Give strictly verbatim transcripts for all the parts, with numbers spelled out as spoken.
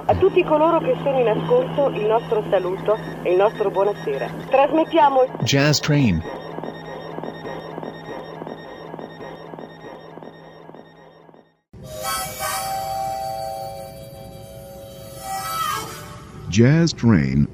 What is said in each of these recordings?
A tutti coloro che sono in ascolto il nostro saluto e il nostro buonasera. Trasmettiamo Jazz Train. Jazz Train.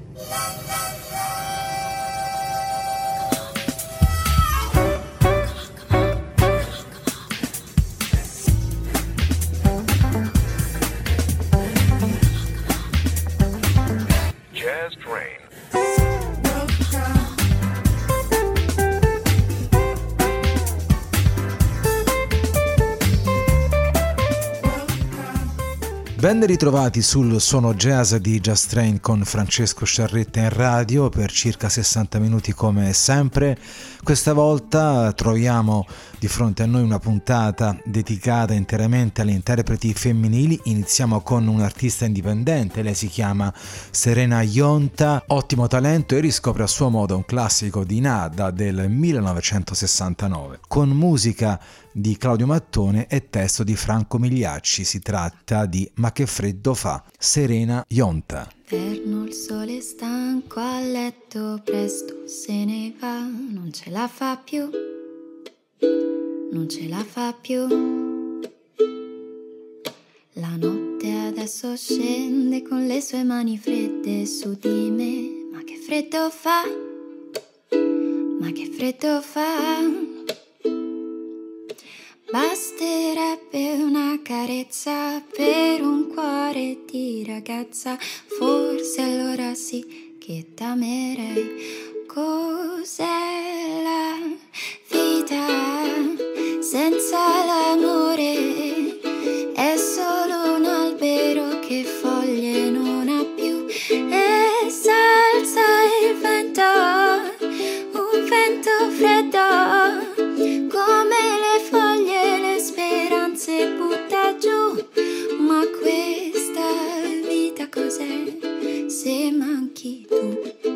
Ben ritrovati sul Suono Jazz di Jazz Train con Francesco Sciarretta in radio per circa sessanta minuti come sempre. Questa volta troviamo di fronte a noi una puntata dedicata interamente alle interpreti femminili. Iniziamo con un'artista indipendente, lei si chiama Serena Yonta, ottimo talento e riscopre a suo modo un classico di Nada del millenovecentosessantanove con musica di Claudio Mattone e testo di Franco Migliacci. Si tratta di Ma che freddo fa, Serena Yonta. Inverno, il sole stanco a letto, presto se ne va, non ce la fa più, non ce la fa più. La notte adesso scende con le sue mani fredde su di me, ma che freddo fa, ma che freddo fa. Basterebbe una carezza per un cuore di ragazza, forse allora sì che t'amerei. Cos'è la vita senza l'amore? È solo un albero che foglie non ha più e s'alza il vento, un vento freddo come le foglie, le speranze butta giù. Ma questa vita cos'è se manchi tu?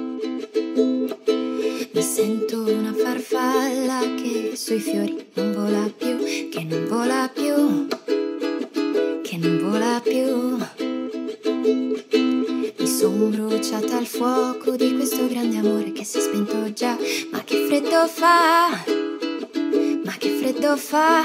Mi sento una farfalla che sui fiori non vola più, che non vola più, che non vola più. Mi son bruciata al fuoco di questo grande amore che si è spento già. Ma che freddo fa, ma che freddo fa.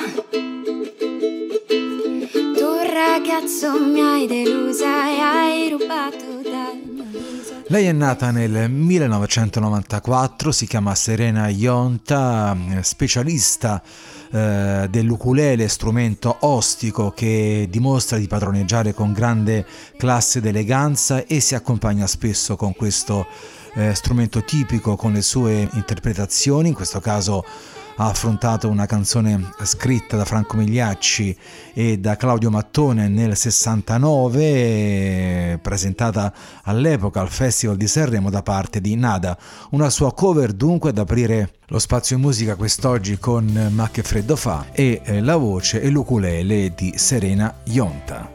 Tu ragazzo mi hai delusa e hai rubato dal mio viso. Lei è nata nel millenovecentonovantaquattro, si chiama Serena Yonta, specialista eh, dell'ukulele, strumento ostico che dimostra di padroneggiare con grande classe ed eleganza e si accompagna spesso con questo eh, strumento tipico con le sue interpretazioni. In questo caso ha affrontato una canzone scritta da Franco Migliacci e da Claudio Mattone nel sessantanove, presentata all'epoca al Festival di Sanremo da parte di Nada. Una sua cover dunque ad aprire lo spazio in musica quest'oggi con Ma che freddo fa e eh, la voce e l'ukulele di Serena Yonta.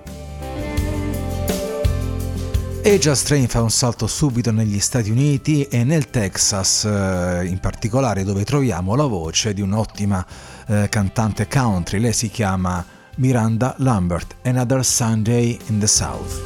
E Jazz Train fa un salto subito negli Stati Uniti e nel Texas, eh, in particolare, dove troviamo la voce di un'ottima eh, cantante country. Lei si chiama Miranda Lambert, Another Sunday in the South.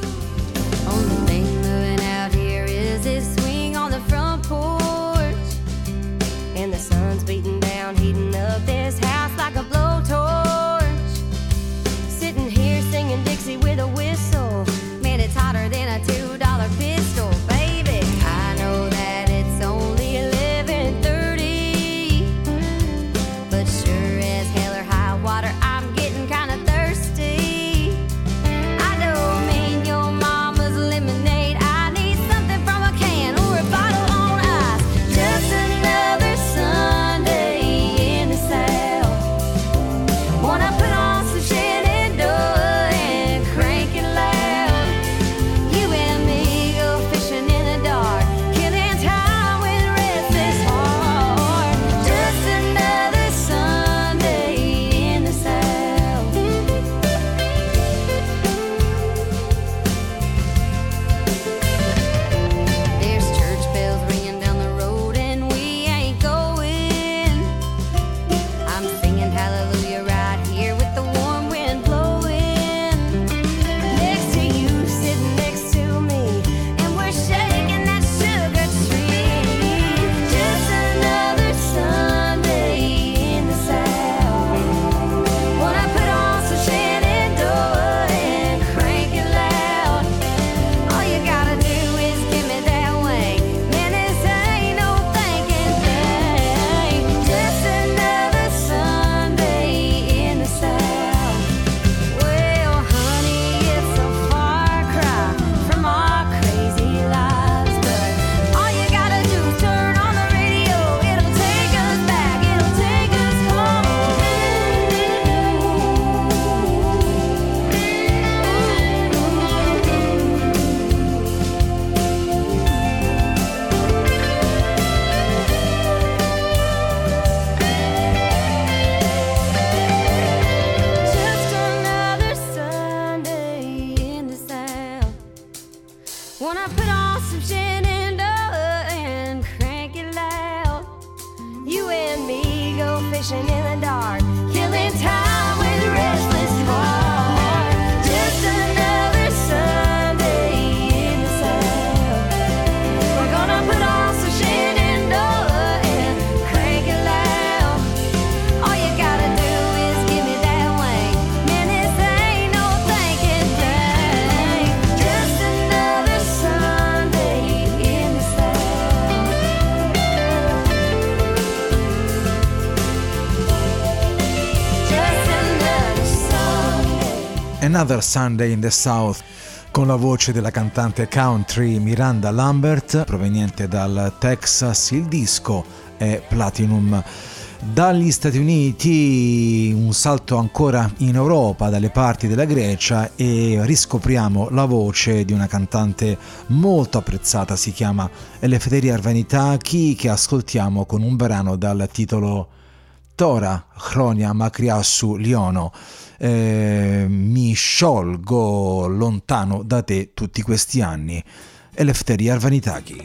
Water, I'm getting kinda thirsty. I don't mean you're Wanna put on some Shenandoah and crank it loud. You and me go fishing in the dark, killing time with a restless heart. Just another Sunday in the South. We're gonna put on some Shenandoah and crank it loud. All you gotta do is give me that wing. Man, this ain't no thinking thing. Just another Sunday in the South. Just another Sunday. Another Sunday in the South, con la voce della cantante country Miranda Lambert, proveniente dal Texas. Il disco è Platinum. Dagli Stati Uniti un salto ancora in Europa, dalle parti della Grecia, e riscopriamo la voce di una cantante molto apprezzata, si chiama Eleftheria Arvanitaki, che ascoltiamo con un brano dal titolo Tora Chronia Makriassou Liono. Eh, mi sciolgo lontano da te tutti questi anni. Eleftheria Arvanitaki.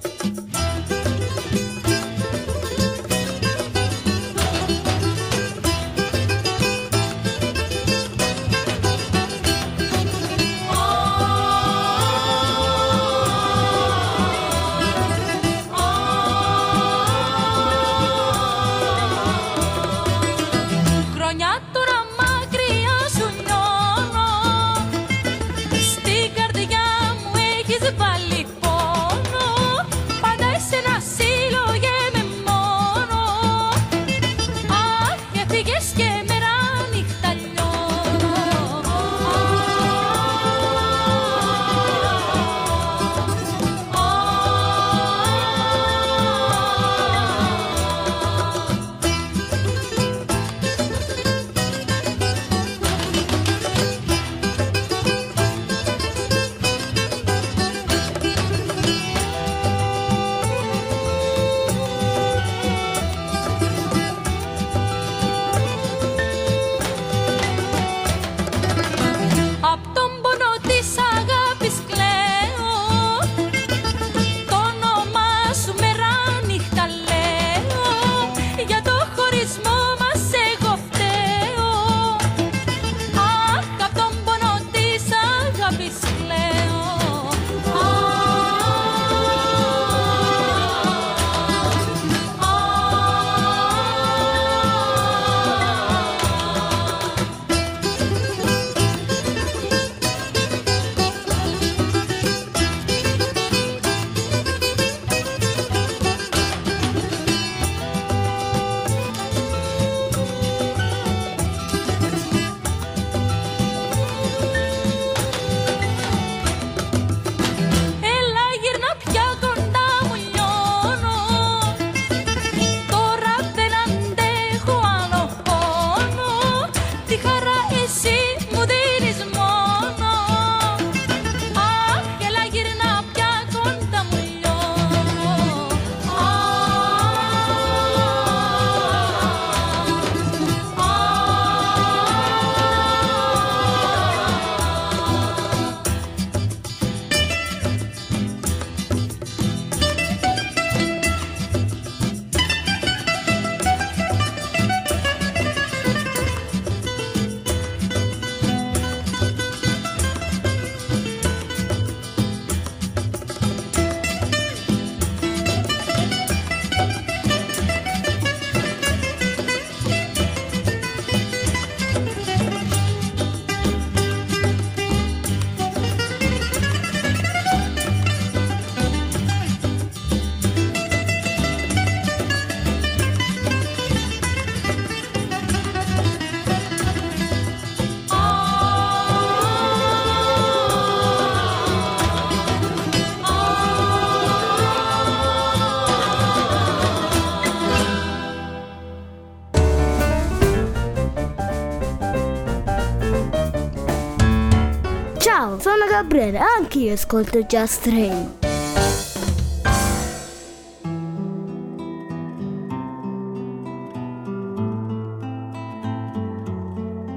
Ciao, sono Gabriele, anch'io ascolto Just Train.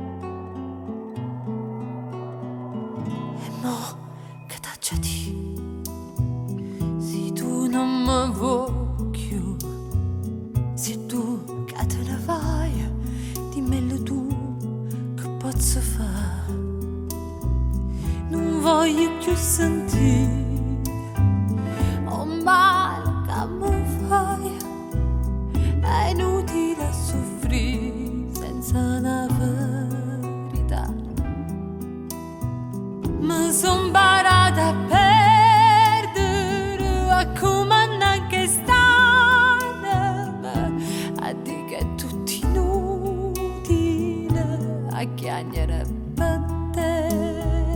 E mo che t'accedi? voglio più sentire un male che mi fai, è inutile soffrire senza una verità. Mi son imparata a perdere, a comandare che stanno, a dire che è tutto inutile, a chiacchiere per te.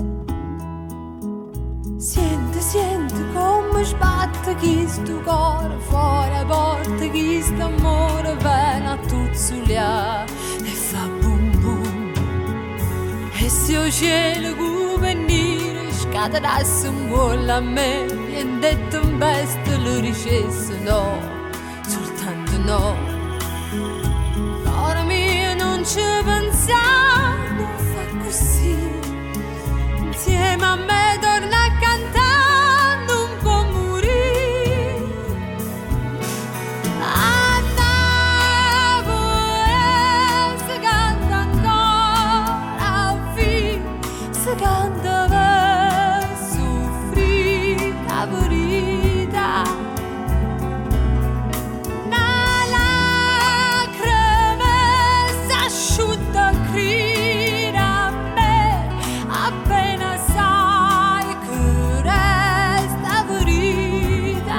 Senti, senti come sbatte questo cuore fuori a porta, questo amore viene a tuzzuliare e fa boom boom. E se il cielo come venire scatenasse un vuole a me, viene detto un beste lo dicesse no, soltanto no. Cuore mio non ci pensare, non fa così, insieme a me torna a cantare, non può morire. A Napoli si canta ancora, fino si canta per soffrire la verità. Una lacrima s'asciutta crina a me, appena sai che resta verità.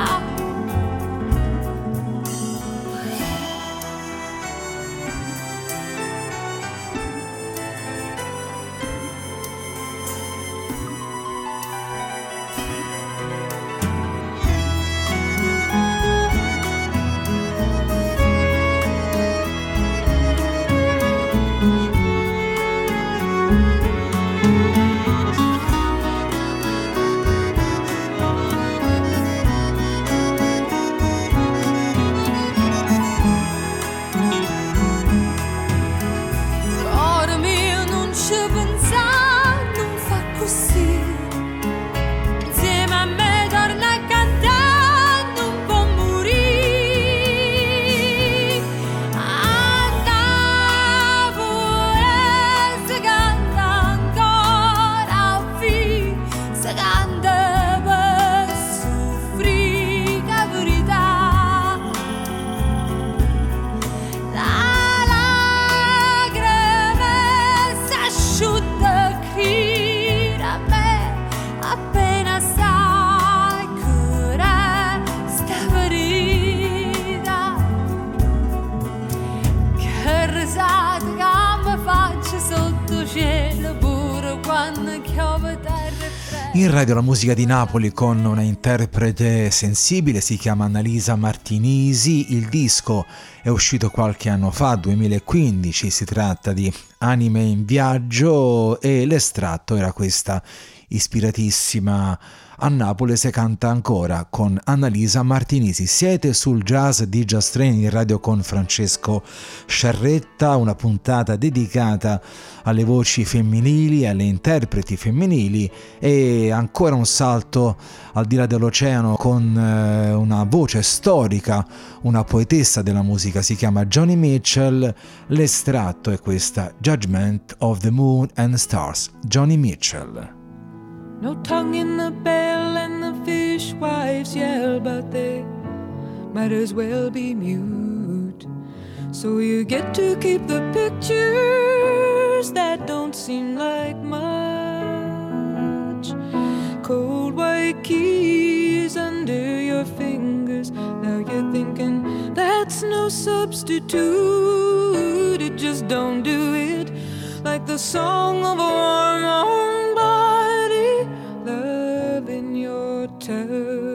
Cuore mio non ci pensare, non fa così, insieme a me torna a cantare, non può morire. A Napoli si canta ancora, fino si canta per soffrire la verità. La lacrima s'asciutta crina a me, appena sai che resta verità. Che risate che mi faccio sotto cielo pure quando chiove terra e fredda. In radio la musica di Napoli con una interprete sensibile, si chiama Annalisa Martinisi. Il disco è uscito qualche anno fa, duemilaquindici, si tratta di Anime in viaggio e l'estratto era questa ispiratissima A Napoli si canta ancora con Annalisa Martinisi. Siete sul Jazz di Just Train in radio con Francesco Sciarretta, una puntata dedicata alle voci femminili, alle interpreti femminili e ancora un salto al di là dell'oceano con eh, una voce storica, una poetessa della musica, si chiama Joni Mitchell. L'estratto è questa, Judgment of the Moon and Stars, Joni Mitchell. No tongue in the bell and the fishwives yell, but they might as well be mute. So you get to keep the pictures that don't seem like much. Cold white keys under your fingers. Now you're thinking that's no substitute. It just don't do it like the song of a warm warm body, love in your touch.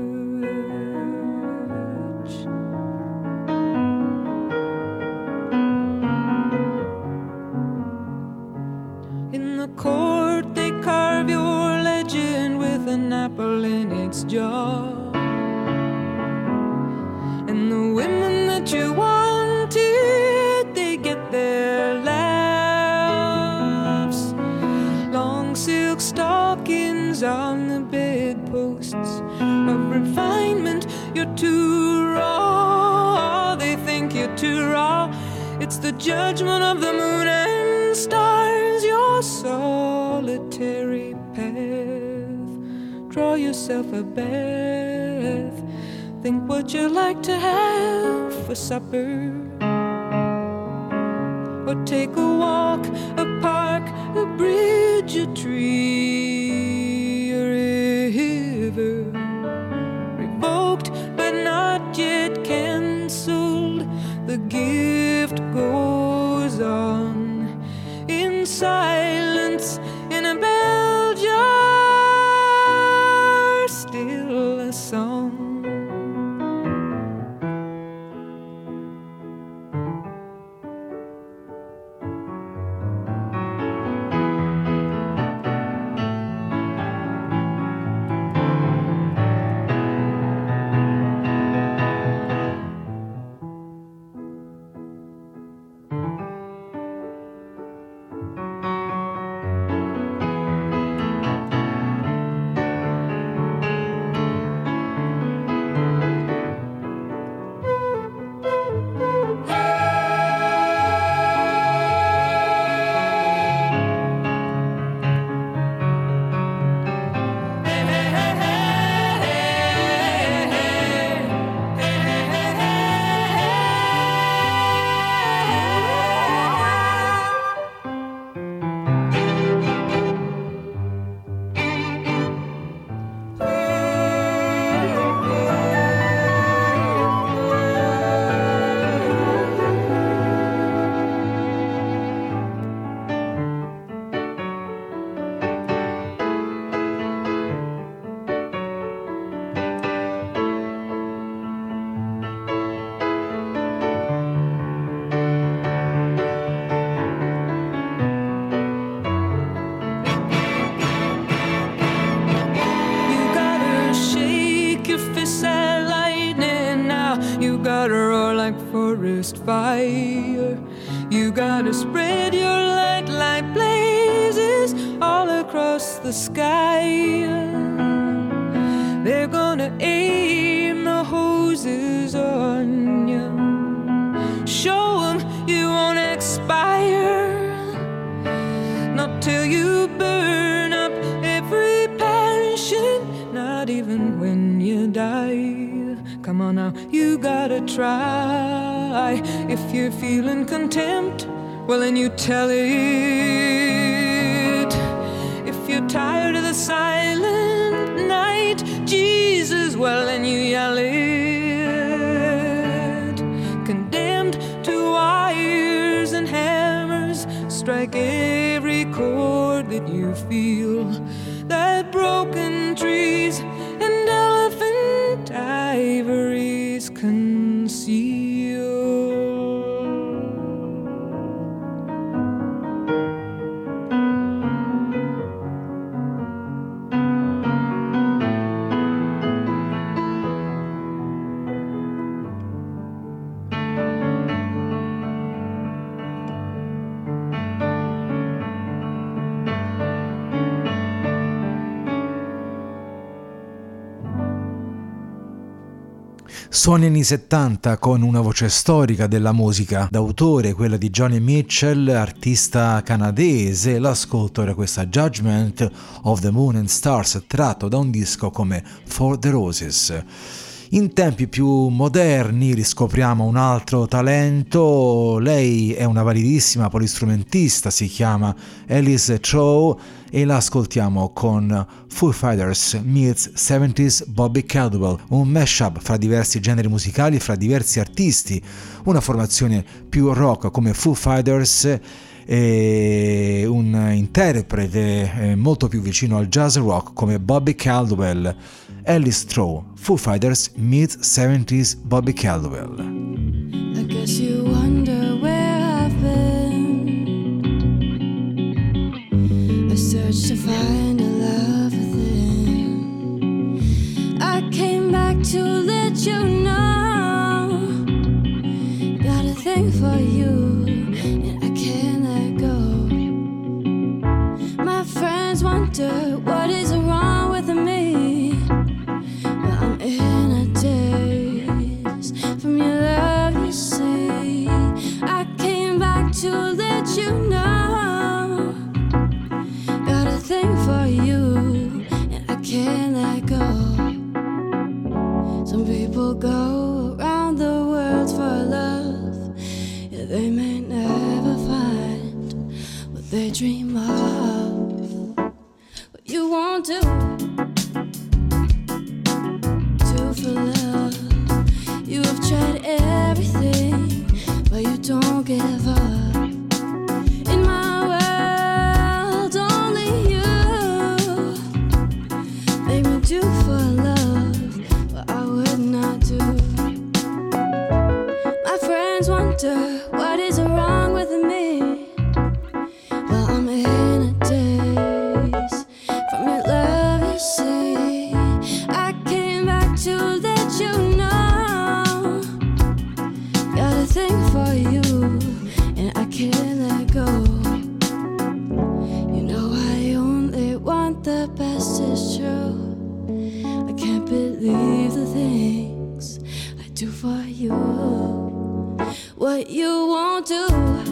In the court they carve your legend with an apple in its jaw, and the women that you wanted, they get their laughs. Long silk stockings on the bedposts of refinement. You're too raw, they think you're too raw. It's the judgment of the moon and stars, your solitary pair. draw yourself a bath. Think what you like to have for supper. Or take a walk, a park, a bridge, a tree, a river. Revoked but not yet cancelled. The gift goes on in silence in a bell jar, still a song. Fire, you gotta spread your light like blazes all across the sky. They're gonna aim the hoses on you. Show them you won't expire, not till you burn up every passion, not even when you die. Come on now, you gotta try. If you're feeling contempt, well then you tell it. If you're tired of the silent night, Jesus, well then you yell it. Condemned to wires and hammers, strike every chord that you feel. That broken trees and elephant ivories conceal. Suoni anni settanta con una voce storica della musica d'autore, quella di Joni Mitchell, artista canadese. L'ascolto era questa Judgment of the Moon and Stars, tratto da un disco come For the Roses. In tempi più moderni riscopriamo un altro talento. Lei è una validissima polistrumentista, si chiama Alice Trow e la ascoltiamo con Foo Fighters meets seventies Bobby Caldwell, un mashup fra diversi generi musicali, fra diversi artisti, una formazione più rock come Foo Fighters e un interprete molto più vicino al jazz rock come Bobby Caldwell. Alice Trow, Foo Fighters meets seventies Bobby Caldwell. I guess you wonder where I've been. I searched to find a love within. I came back to let you know. Got a thing for you, and I can't let go. My friends wonder what is wrong with me. I'm in a daze from your love, you see. I came back to let you know. Got a thing for you, and I can't let do? Do for love. You have tried everything, but you don't give up. In my world, only you make me do for love what I would not do. My friends wonder what is wrong with me. Well, I'm in a daze from your love, you see. I came back to let you know. Got a thing for you, and I can't let go. You know I only want the best, it's true. I can't believe the things I do for you. What you won't do,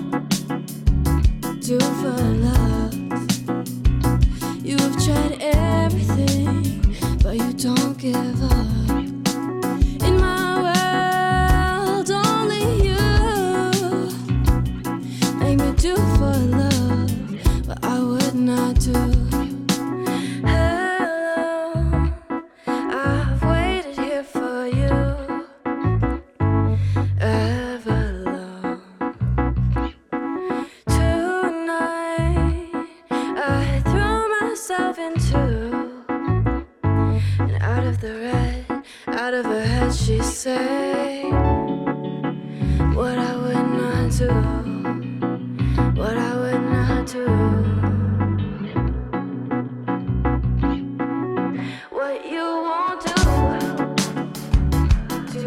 do for love. You have tried everything, but you don't give up. In my world, only you make me do for love what I would not do. Hello, I've waited here for you ever long. Tonight I threw myself into, and out of the red, out of her head she say what I would not do, what I would not do. What you won't do, do.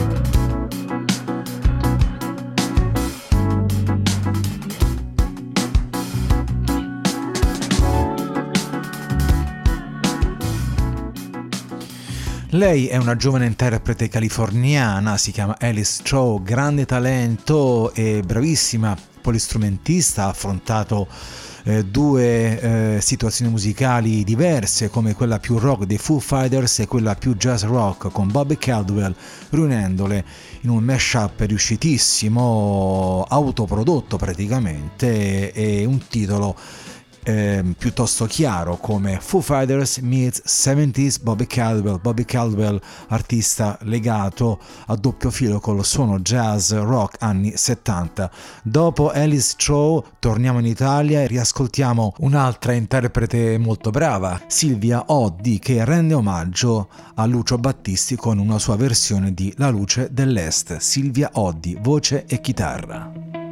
Lei è una giovane interprete californiana, si chiama Alice Cho, grande talento e bravissima polistrumentista, ha affrontato eh, due eh, situazioni musicali diverse, come quella più rock dei Foo Fighters e quella più jazz rock con Bobby Caldwell, riunendole in un mashup riuscitissimo, autoprodotto praticamente, e un titolo Eh, piuttosto chiaro come Foo Fighters meets seventies Bobby Caldwell. Bobby Caldwell, artista legato a doppio filo col suono jazz rock anni settanta. Dopo Alice Cho torniamo in Italia e riascoltiamo un'altra interprete molto brava, Silvia Oddi, che rende omaggio a Lucio Battisti con una sua versione di La luce dell'Est. Silvia Oddi, voce e chitarra.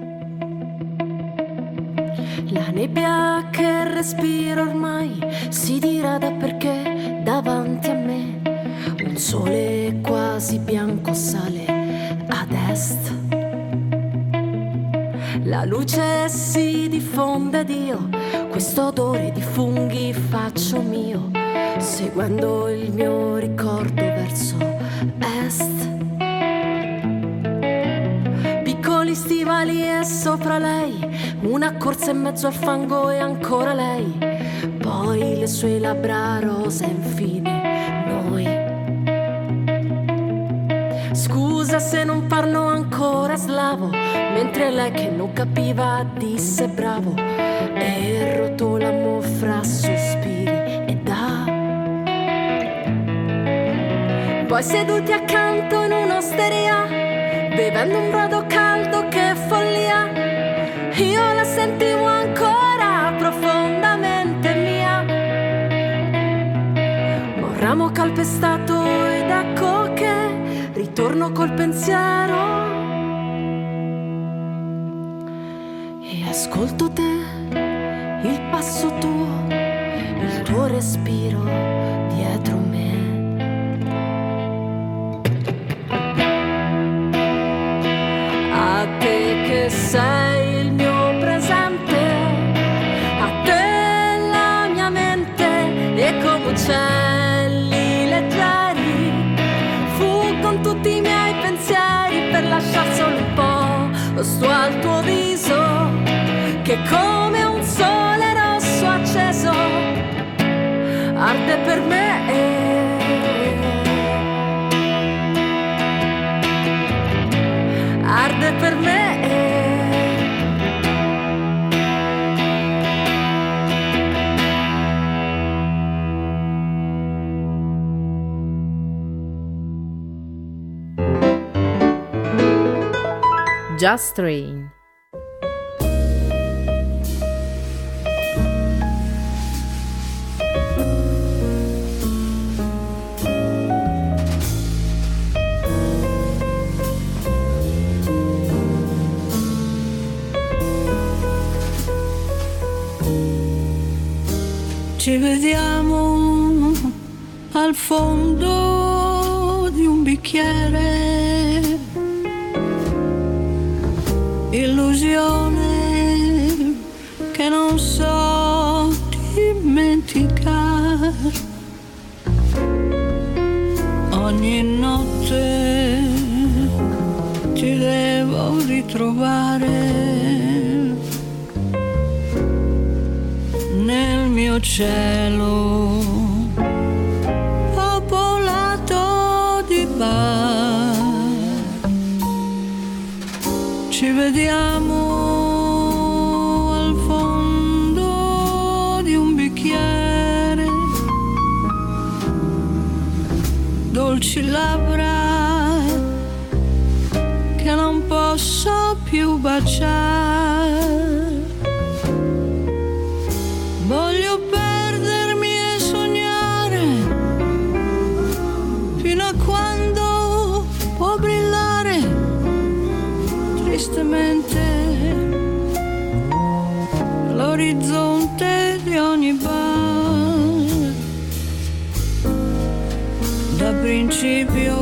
La nebbia che respiro ormai si dirada perché davanti a me un sole quasi bianco sale ad est. La luce si diffonde ed io questo odore di funghi faccio mio, seguendo il mio ricordo verso est. Piccoli stivali e sopra lei una corsa in mezzo al fango e ancora lei, poi le sue labbra rosa e infine noi. Scusa se non parlo ancora slavo, mentre lei che non capiva disse bravo e rotolamo fra sospiri e da. Poi seduti accanto in un'osteria, bevendo un brodo caldo, che follia, io la sentivo ancora profondamente mia. Ma un ramo calpestato ed ecco che ritorno col pensiero e ascolto te, il passo tuo, il tuo respiro dietro me. A te che sei il mio presente, a te la mia mente e come uccelli leggeri fuggono tutti i miei pensieri per lasciar solo un po' sto al tuo viso che come un sole rosso acceso arde per me. Arde per me. Just Train. Ci vediamo al fondo di un bicchiere, illusione che non so dimenticare. Ogni notte ti devo ritrovare nel mio cielo popolato di bar. Ci vediamo al fondo di un bicchiere, dolci labbra che non posso più baciare. Voglio perdermi e sognare fino a quando può brillare tristemente l'orizzonte di ogni bar. Da principio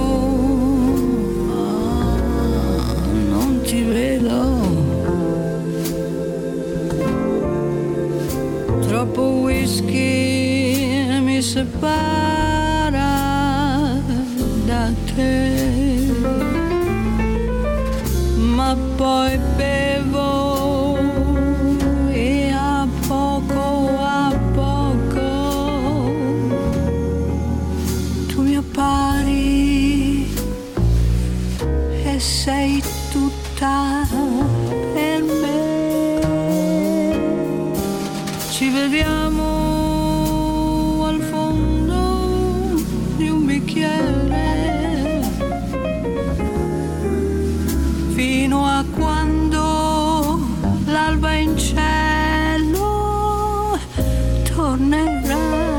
ah, non ti vedo. Troppo whisky mi separa da te, ma poi bevo e a poco a poco tu mi appari e sei tutta per me. Ci vediamo al fondo di un bicchiere fino a quando l'alba in cielo tornerà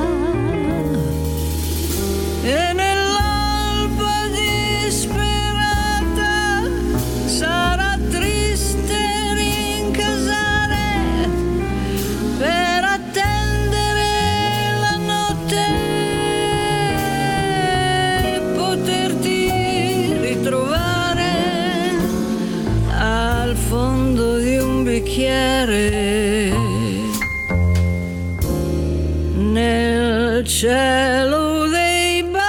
e nell'alba disperata sarà triste rincasare per attendere la notte e poterti ritrovare al fondo di un bicchiere nel cielo dei bar.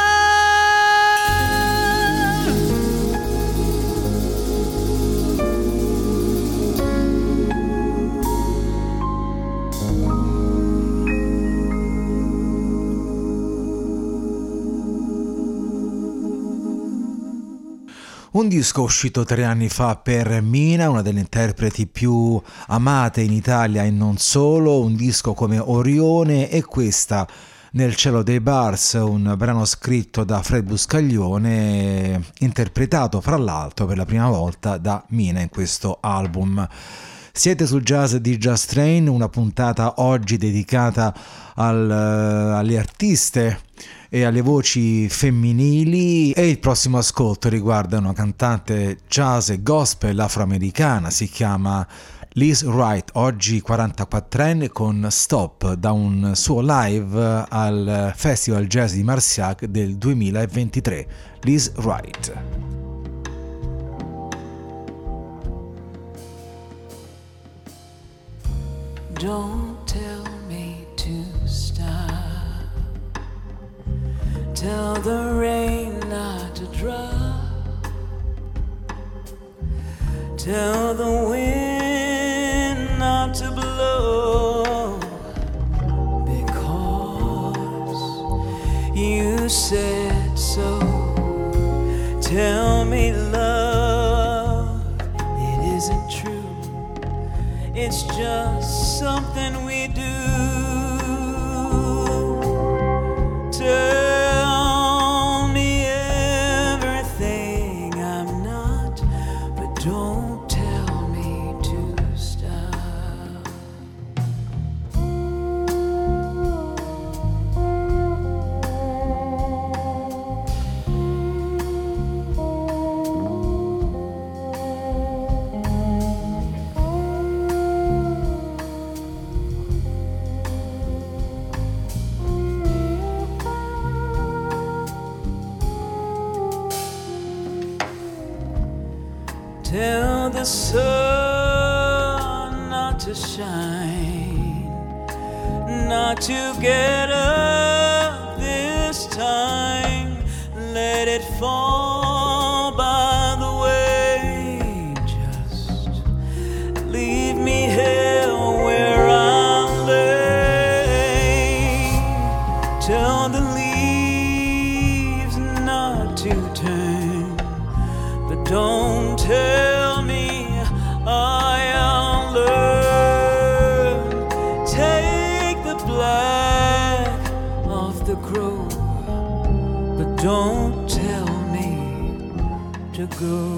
Un disco uscito tre anni fa per Mina, una delle interpreti più amate in Italia e non solo, un disco come Orione e questa Nel cielo dei bars, un brano scritto da Fred Buscaglione, interpretato fra l'altro per la prima volta da Mina in questo album. Siete sul jazz di Just Train, una puntata oggi dedicata al, alle artiste e alle voci femminili, e il prossimo ascolto riguarda una cantante jazz e gospel afroamericana, si chiama Liz Wright, oggi quarantaquattrenne, con Stop, da un suo live al Festival Jazz di Marciac del duemilaventitré. Liz Wright. Don't tell me to stop. Tell the rain not to drop. Tell the wind not to blow. Because you said so. Tell me, love, it isn't true. It's just something we do. Tell me everything I'm not, but don't tell Tell the sun not to shine, not to get up this time. Let it fall by the way. Just leave me here where I lay. Tell the leaves not to turn, but don't tell me I'll learn. Take the black off the crow, but don't tell me to go.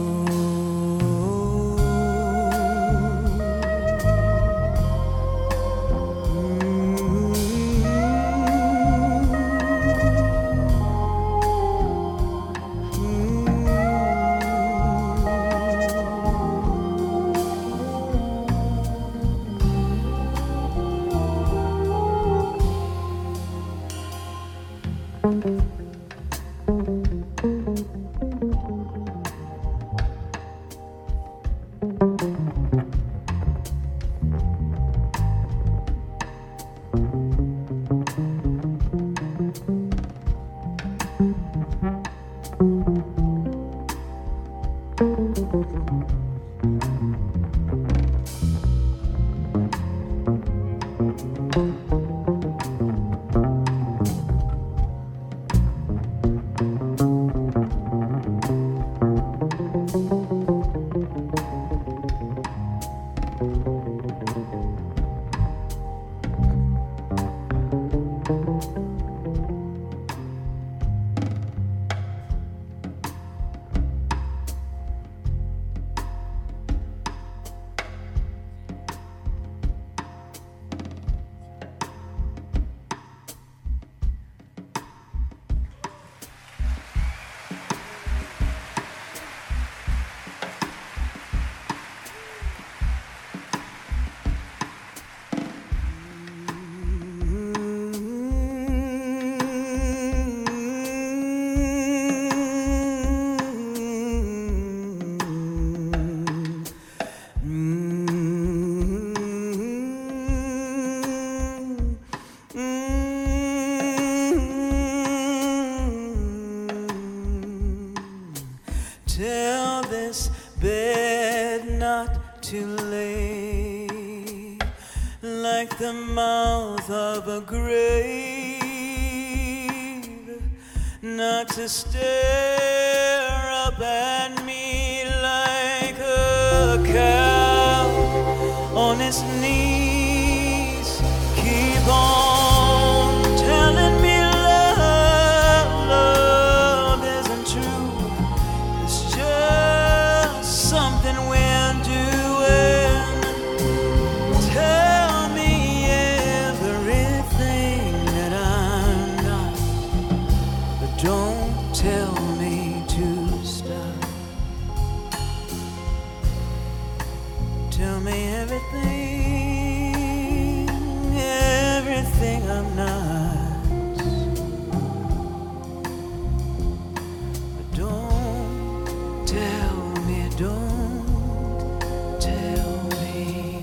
Tell this bed not to lay like the mouth of a grave, not to stare up at me like a cow on its knees. Keep on telling me love, love isn't true. It's just something we're doing. Tell me everything that I'm not, but don't tell me to stop. Tell me everything, everything I'm not, but don't tell me, don't tell me.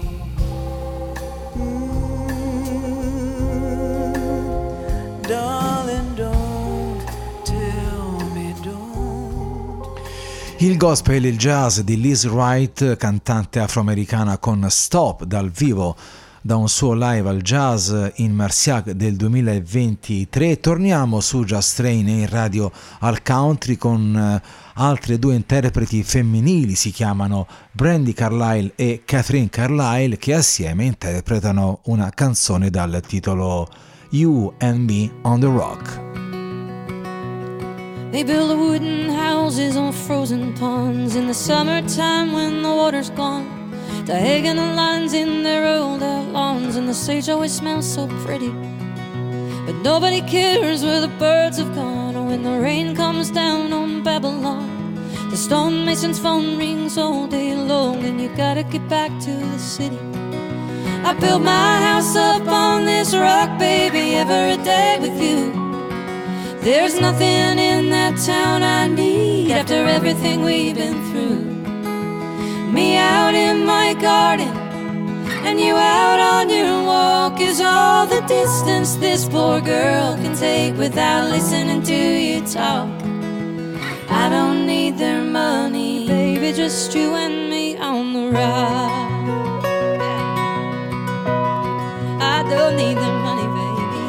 Mm, darling, don't tell me, don't. Il gospel e il jazz di Liz Wright, cantante afroamericana con Stop dal vivo da un suo live al Jazz in Marciac del duemilaventitré. Torniamo su Jazz Train in radio al country con altre due interpreti femminili, si chiamano Brandi Carlile e Catherine Carlile, che assieme interpretano una canzone dal titolo You and Me on the Rock. They build wooden houses on frozen ponds in the summertime when the water's gone. Diagonal lines in their rolled out lawns, and the sage always smells so pretty. But nobody cares where the birds have gone, or when the rain comes down on Babylon. The stonemason's phone rings all day long, and you gotta get back to the city. I built my house up on this rock, baby, every day with you. There's nothing in that town I need after everything we've been through. Me out in my garden and you out on your walk is all the distance this poor girl can take without listening to you talk. I don't need their money, baby, just you and me on the ride. I don't need their money, baby.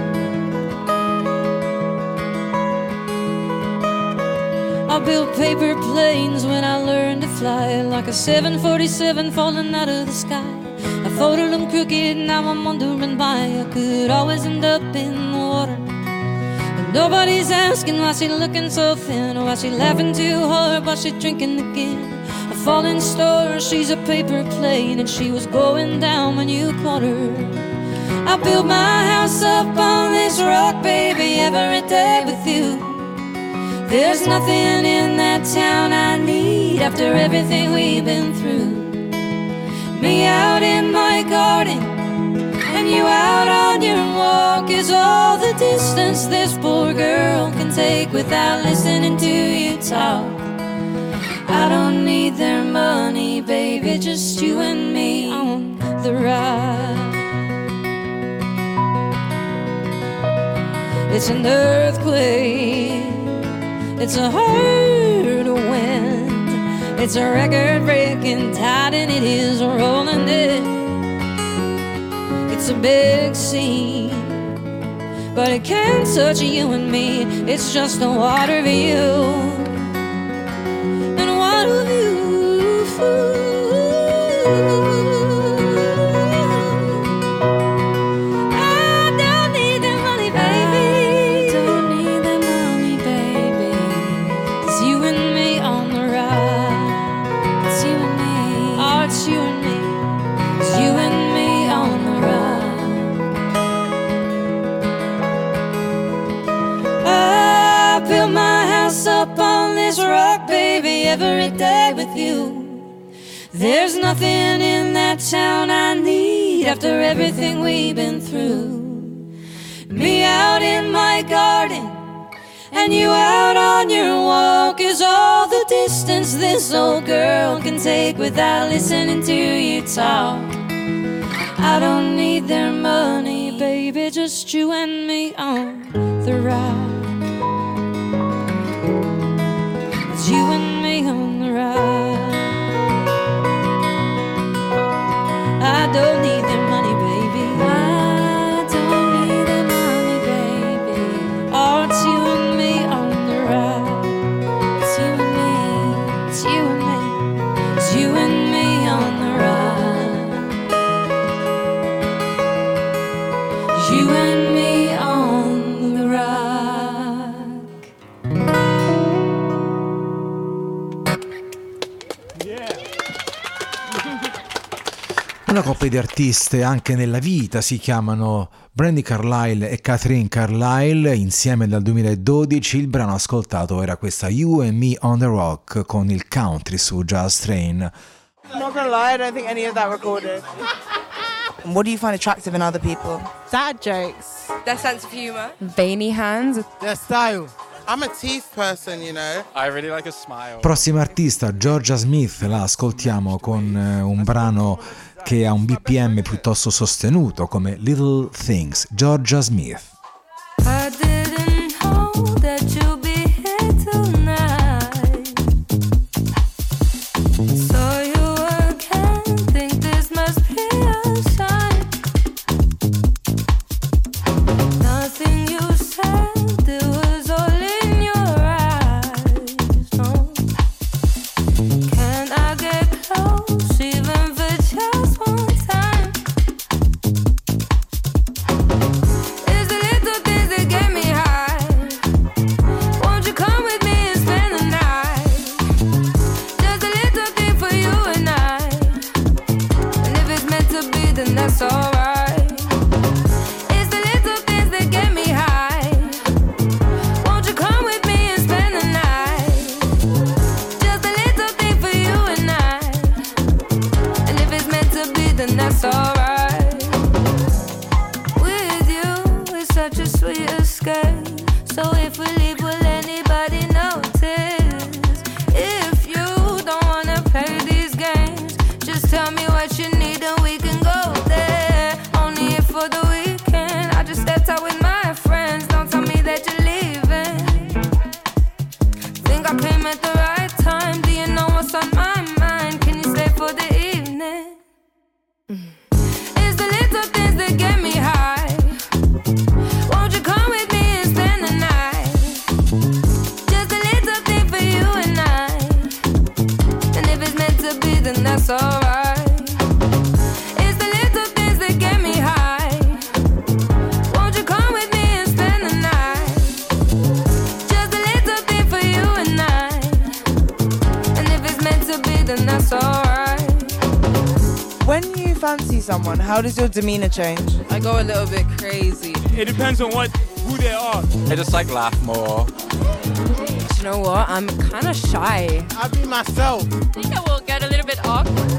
I built paper planes when I learned to fly, like a seven forty-seven falling out of the sky. I folded them crooked, now I'm wondering why I could always end up in the water. And nobody's asking why she looking so thin, or why she laughing too hard, why she drinking again. A falling star, she's a paper plane, and she was going down when you caught her. I built my house up on this rock, baby, every day with you. There's nothing in that town I need after everything we've been through. Me out in my garden and you out on your walk is all the distance this poor girl can take without listening to you talk. I don't need their money, baby, just you and me on the ride. It's an earthquake, it's a hard wind, it's a record-breaking tide and it is rolling in. It's a big scene, but it can't touch you and me. It's just a water view, and water view. Rock, baby, every day with you. There's nothing in that town I need after everything we've been through. Me out in my garden and you out on your walk is all the distance this old girl can take without listening to you talk. I don't need their money, baby, just you and me on the ride. You and me on the ride. I don't need their money, baby. I don't need their money, baby. Oh, it's you and me on the ride. It's you and me, it's you and me, it's you and me on the ride. You and me on the ride. Una coppia di artiste anche nella vita, si chiamano Brandi Carlile e Catherine Carlile, insieme dal duemiladodici. Il brano ascoltato era questa You and Me on the Rock con il country su Jazz Train. Not gonna lie, I don't think any of that recorded. What do you find attractive in other people? Sad jokes. Their sense of humour. Veiny hands. Their style. I'm a teeth person, you know. I really like a smile. Prossima artista, Georgia Smith, la ascoltiamo con un brano che ha un B P M piuttosto sostenuto come Little Things. Georgia Smith. I didn't know that you'd be here tonight. Saw you again, think this must be a sign. Nothing you said, it was all in your eyes. No. Can I get close, even for just one time? Is it fancy someone, how does your demeanor change? I go a little bit crazy. It depends on what who they are. I just like laugh more. You know what? I'm kind of shy. I'll be myself. I think I will get a little bit awkward.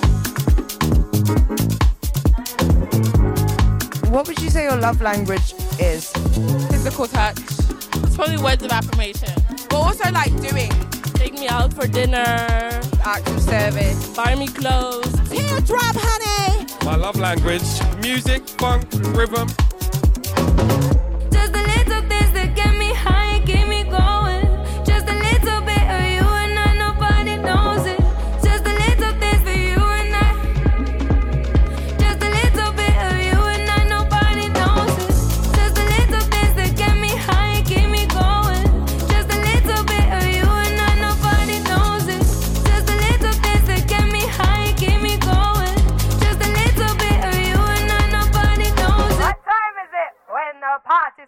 What would you say your love language is? Physical touch. It's probably words of affirmation. But also like doing. Take me out for dinner. Acts of service. Buy me clothes. Teardrop, honey. My love language, music, funk, rhythm. Just the little things that get me high and keep me going. Just a little bit of you and I, nobody knows it. Just the little things for you and I. Just a little bit of you and I, nobody knows it. Just the little things that get me high and keep me going. Just a little bit of you and I, nobody knows it. Just a little things that get me high and keep me going. Just a little bit of you and I, nobody knows it. What time is it when the party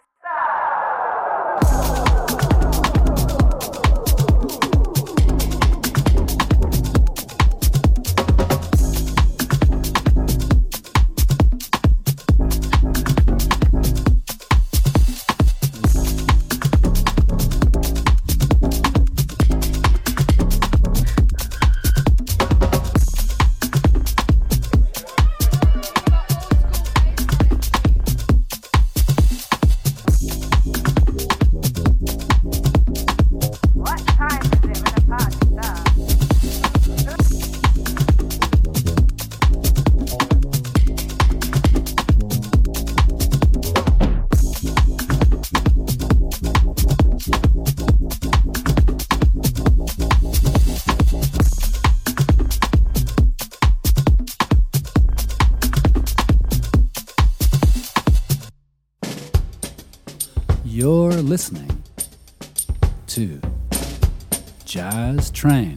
You're listening to Jazz Train.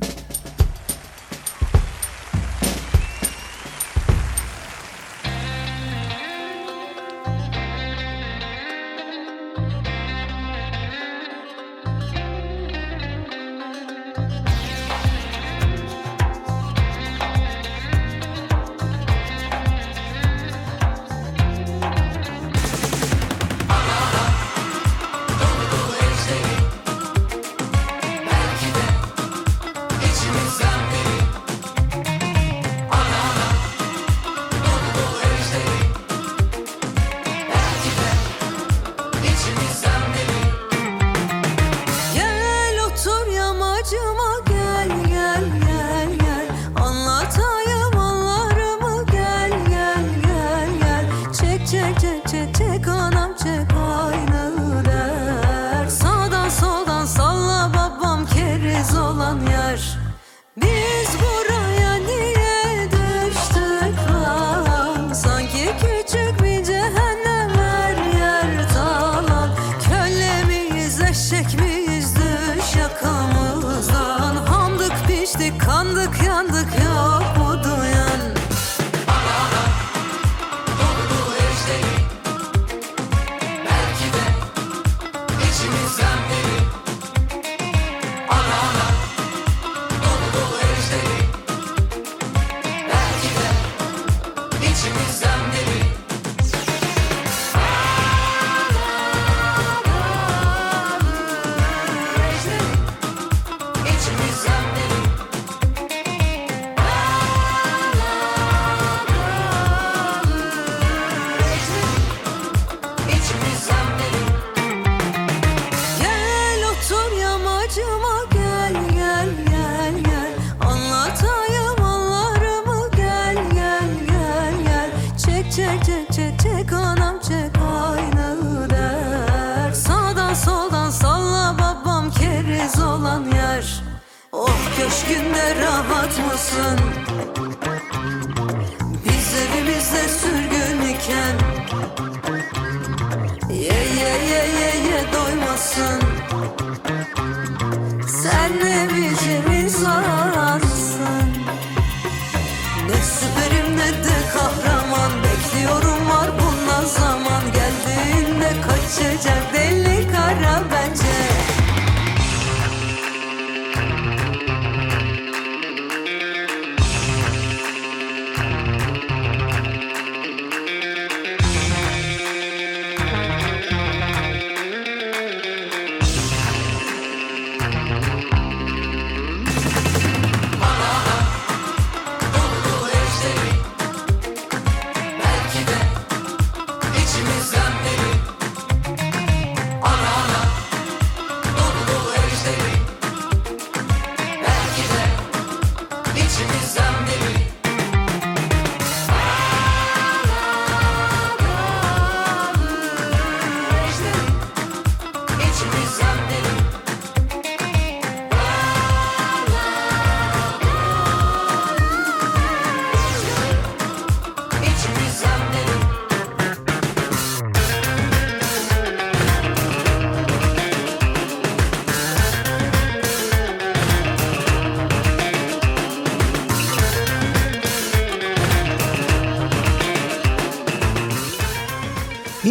Köşkünde rahat mısın? Biz evimizde sürgün iken Ye ye ye ye ye doymasın. Sen ne biçim insansın? Ne süperim ne de kahraman. Bekliyorum var bundan zaman. Geldiğinde kaçacak deli kara bence.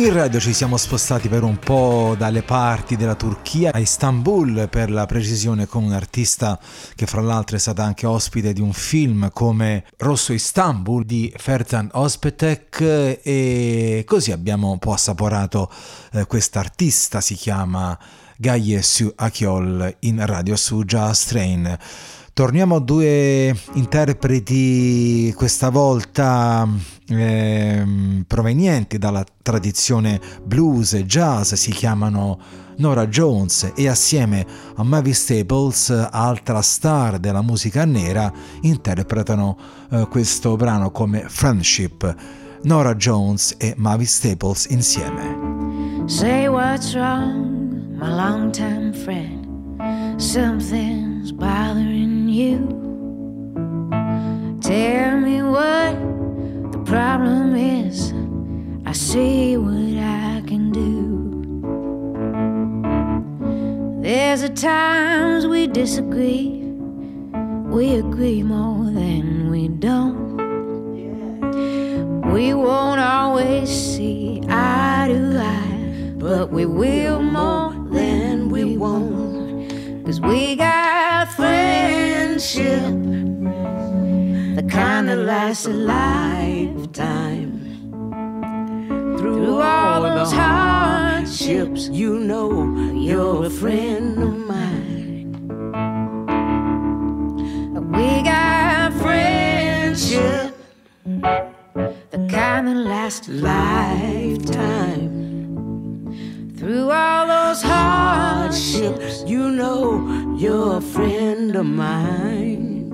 In radio ci siamo spostati per un po' dalle parti della Turchia a Istanbul, per la precisione, con un artista che fra l'altro è stata anche ospite di un film come Rosso Istanbul di Ferzan Özpetek, e così abbiamo un po' assaporato eh, quest'artista. Si chiama Gaye Su Akyol in radio su Jazz Train. Torniamo a due interpreti, questa volta eh, provenienti dalla tradizione blues e jazz. Si chiamano Norah Jones e assieme a Mavis Staples, altra star della musica nera, interpretano eh, questo brano come Friendship. Norah Jones e Mavis Staples insieme. Say what's wrong, my longtime friend. Something's bothering you. Tell me what the problem is. I see what I can do. There's a times we disagree. We agree more than we don't. We won't always see eye to eye, but we will more than we won't. 'Cause we got friendship, the kind that lasts a lifetime. Through all those hardships, you know you're a friend of mine. We got friendship, the kind that lasts a lifetime. Through all those hardships, you know you're a friend of mine.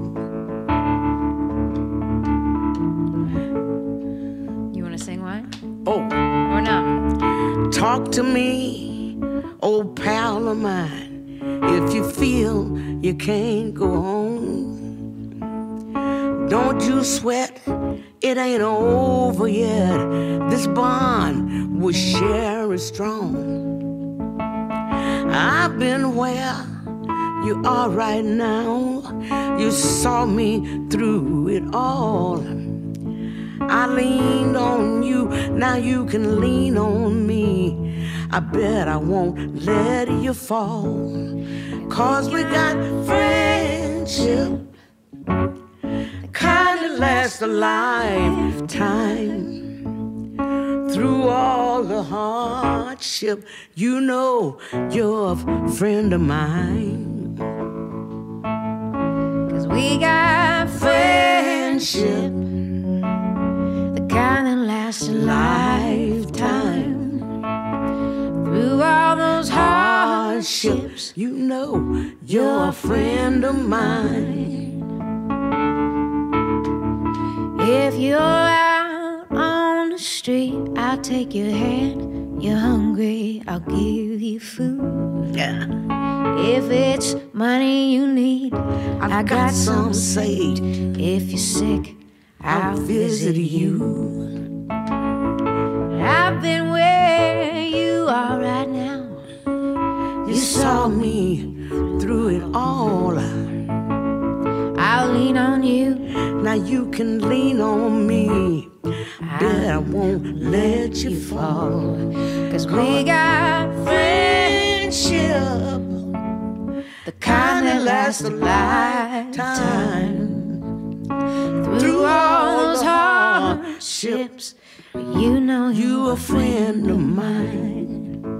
You want to sing one? Oh. Or not? Talk to me, old pal of mine, if you feel you can't go on. Don't you sweat, it ain't over yet. This bond we share is strong. I've been where you are right now. You saw me through it all. I leaned on you, now you can lean on me. I bet I won't let you fall. 'Cause we got friendship, the kind that lasts a lifetime. Through all the hardship, you know you're a friend of mine. 'Cause we got friendship, the kind that lasts a lifetime. Through all those hardships, you know you're a friend of mine. If you're out on the street, I'll take your hand. You're hungry, I'll give you food. Yeah. If it's money you need, I've I got got some some saved. If you're sick, I'll I'll visit visit you. you. I've been where you are right now. You saw me through it all. I'll lean on you. Now you can lean on me. Bet I won't let you fall. 'Cause we got friendship, the kind that lasts a lifetime. Through all those hardships, you know you a friend of mine.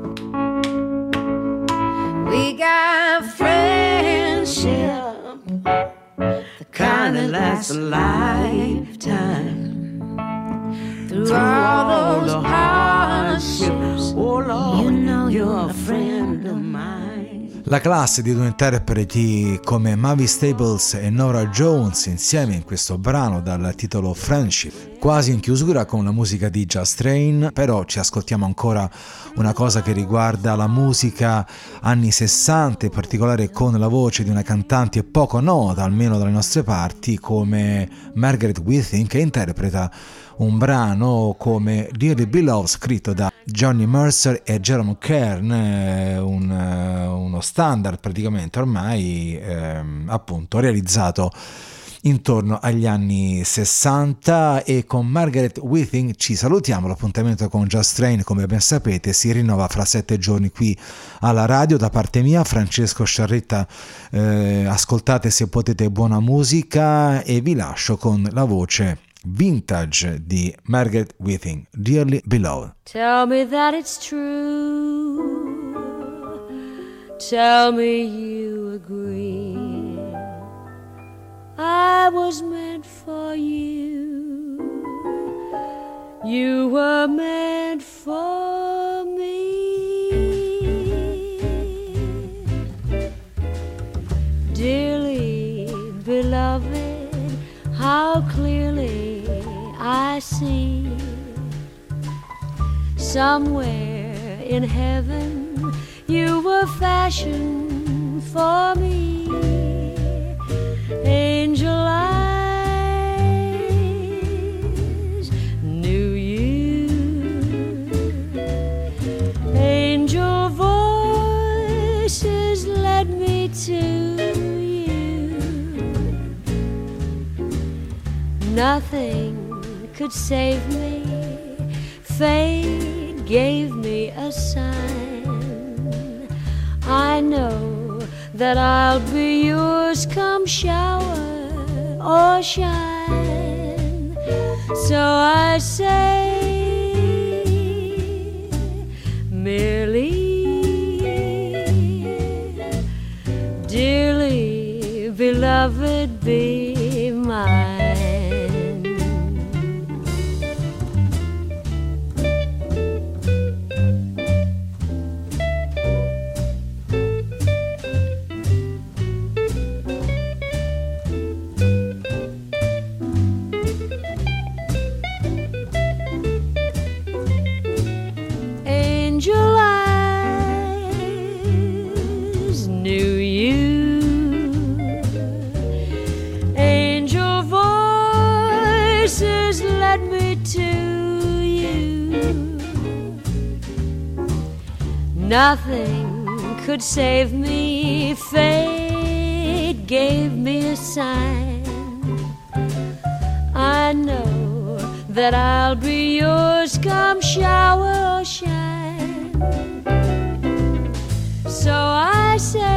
We got friendship, the kind that lasts a lifetime. Through all those hardships, oh Lord, you know you're a friend of mine. La classe di due interpreti come Mavis Staples e Norah Jones insieme in questo brano dal titolo Friendship, quasi in chiusura con la musica di Jazz Train. Però ci ascoltiamo ancora una cosa che riguarda la musica anni sessanta, in particolare con la voce di una cantante poco nota, almeno dalle nostre parti, come Margaret Whiting, che interpreta un brano come Dearly Beloved scritto da Johnny Mercer e Jerome Kern, un, uno standard praticamente ormai, ehm, appunto realizzato intorno agli anni sessanta, e con Margaret Whiting ci salutiamo. L'appuntamento con Just Train, come ben sapete, si rinnova fra sette giorni qui alla radio. Da parte mia, Francesco Sciarretta, eh, ascoltate se potete buona musica, e vi lascio con la voce vintage di Margaret Whiting, Dearly Beloved. Tell me that it's true. Tell me you agree. I was meant for you. You were meant for me. Dearly beloved, how clearly I see. Somewhere in heaven you were fashioned for me. Angel eyes knew you. Angel voices led me to you. Nothing could save me. Fate gave me a sign. I know that I'll be yours come shower or shine. So I say merely, dearly beloved, be mine. Nothing could save me. Fate gave me a sign. I know that I'll be yours come shower or shine. So I say